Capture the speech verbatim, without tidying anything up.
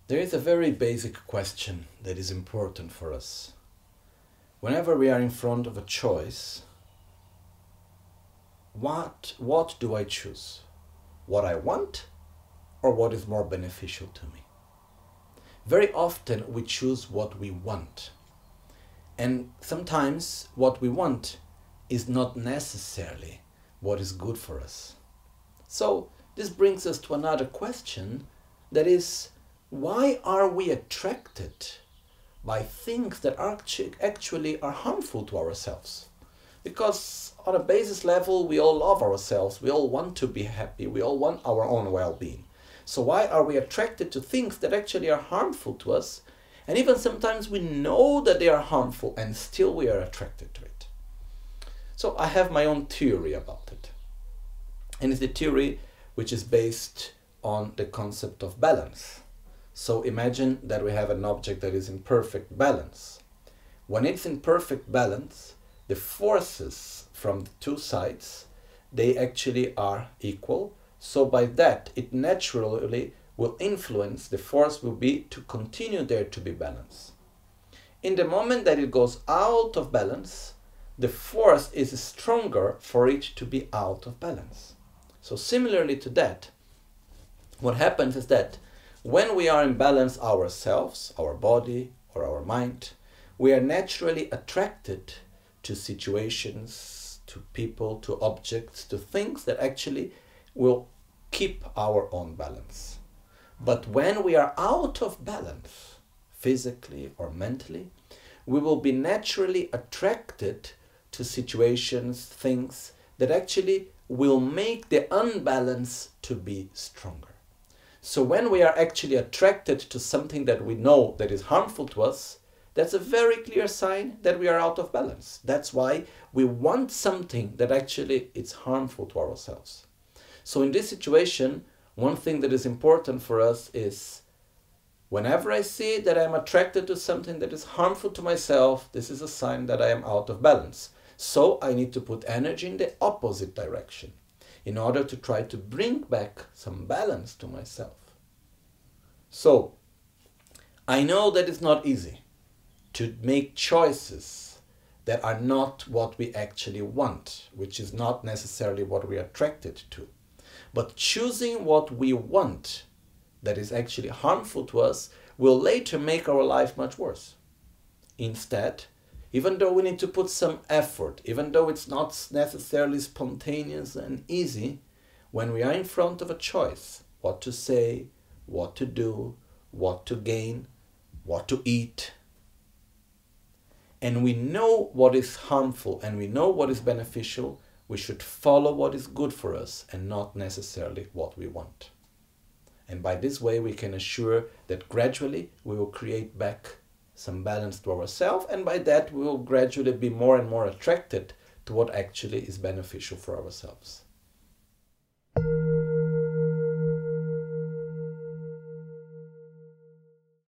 There is a very basic question that is important for us. Whenever we are in front of a choice, what, what do I choose? What I want or what is more beneficial to me? Very often we choose what we want. And sometimes what we want is not necessarily what is good for us. So this brings us to another question, that is, why are we attracted by things that are actually are harmful to ourselves? Because on a basis level, we all love ourselves, we all want to be happy, we all want our own well-being. So why are we attracted to things that actually are harmful to us? And even sometimes we know that they are harmful and still we are attracted to it. So I have my own theory about it. And it's a theory which is based on the concept of balance. So imagine that we have an object that is in perfect balance. When it's in perfect balance, the forces from the two sides, they actually are equal. So by that, it naturally will influence, the force will be to continue there to be balanced. In the moment that it goes out of balance, the force is stronger for it to be out of balance. So similarly to that, what happens is that when we are in balance ourselves, our body or our mind, we are naturally attracted to situations, to people, to objects, to things that actually will keep our own balance. But when we are out of balance, physically or mentally, we will be naturally attracted to situations, things that actually will make the unbalance to be stronger. So when we are actually attracted to something that we know that is harmful to us, that's a very clear sign that we are out of balance. That's why we want something that actually is harmful to ourselves. So in this situation, one thing that is important for us is, whenever I see that I'm attracted to something that is harmful to myself, this is a sign that I am out of balance. So I need to put energy in the opposite direction in order to try to bring back some balance to myself. So I know that it's not easy to make choices that are not what we actually want, which is not necessarily what we are attracted to. But choosing what we want that is actually harmful to us will later make our life much worse. Instead, even though we need to put some effort, even though it's not necessarily spontaneous and easy, when we are in front of a choice, what to say, what to do, what to gain, what to eat, and we know what is harmful and we know what is beneficial, we should follow what is good for us and not necessarily what we want. And by this way, we can assure that gradually we will create back some balance to ourselves, and by that we will gradually be more and more attracted to what actually is beneficial for ourselves.